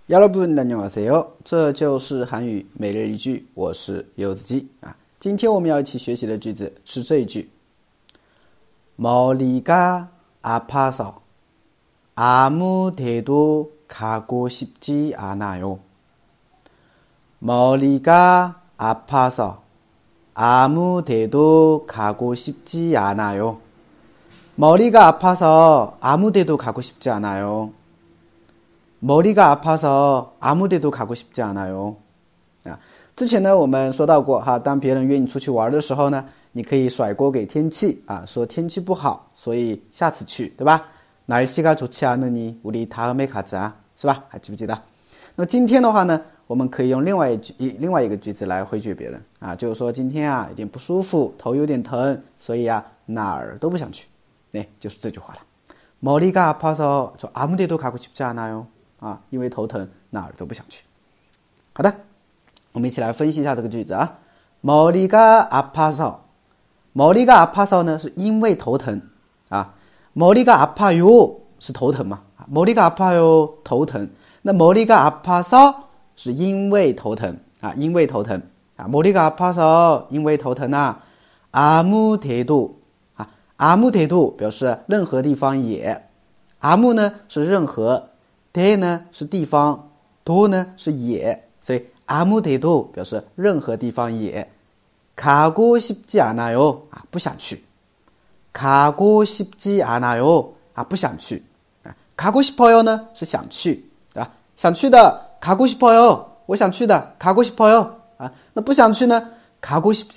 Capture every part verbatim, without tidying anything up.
여러분 안녕하세요，这就是韩语每日一句，我是柚子鸡啊。今天我们要一起学习的句子是这一句：머리가 아파서 아무 데도 가고 싶지 않아요. 머리가 아파서 아무 데도 가고 싶지 않아요. 머리가 아파서 아무 데도 가고 싶지 않아요. 머리가 아파서 아무 데도 가고 싶지 않아요. 啊，之前呢我们说到过哈，当别人约你出去玩的时候呢，你可以甩锅给天气啊，说天气不好，所以下次去，对吧？날씨가 좋지 않으니 우리 다음에 가자，是吧？还记不记得？那么今天的话呢，我们可以用另外一句另外一个句子来回绝别人啊，就是说今天啊有点不舒服，头有点疼，所以啊哪儿都不想去，哎，就是这句话了。머리가 아파서 저 아무 데도 가고 싶지 않아요。啊，因为头疼，哪儿都不想去。好的，我们一起来分析一下这个句子啊。머리가 아파서， 머리가 아파서呢是因为头疼啊。머리가 아파요是头疼嘛？ 머리가 아파요头疼。那머리가 아파서是因为头疼啊，因为头疼啊。머리가 아파서因为头疼啊。아무 데도啊，아무 데도表示任何地方也。아무呢是任何。데呢是地方，도呢是也，所以아무 데도表示任何地方也。가고 싶지 않아요啊，不想去。가고 싶지 않아요啊，不想去。가고 싶어요呢是想去，对吧？想去的가고 싶어요，我想去的가고 싶어요啊，那不想去呢가고 싶지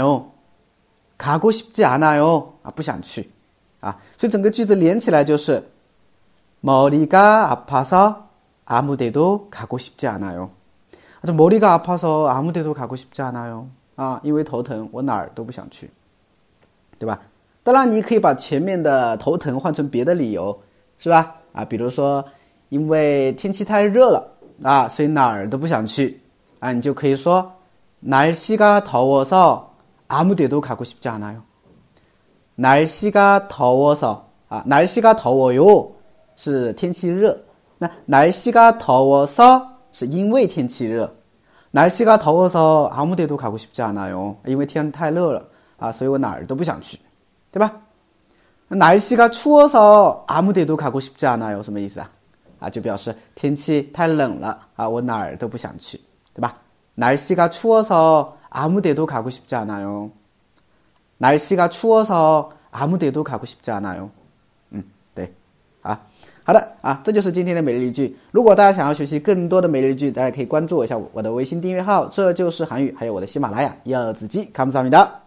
않아요，가고 싶지 않아요啊，不想去啊，所以整个句子连起来就是。머리가 아파서 아무 데도 가고 싶지 않아요. 머리가 아파서 아무 데도 가고 싶지 않아요. 啊，因为头疼，我哪儿都不想去，对吧？当然，你可以把前面的头疼换成别的理由，是吧？啊，比如说，因为天气太热了啊，所以哪儿都不想去啊，你就可以说날씨가 더워서 아무 데도 가고 싶지 않아요. 날씨가 더워서啊，날씨가 더워요。是天气热，那날씨가 더워서是因为天气热，날씨가 더워서 아무 데도 가고 싶지 않아요，因为天太热了啊，所以我哪儿都不想去，对吧？날씨가 추워서 아무 데도 가고 싶지 않아요，什么意思啊？啊，就表示天气太冷了啊，我哪儿都不想去，对吧？날씨가 추워서 아무 데도 가고 싶지 않아요，날씨가 추워서 아무 데도 가고 싶지 않아요。嗯，对，啊。好的啊，这就是今天的每日一句。如果大家想要学习更多的每日一句，大家可以关注我一下我的微信订阅号，这就是韩语，还有我的喜马拉雅柚子鸡，감사합니다。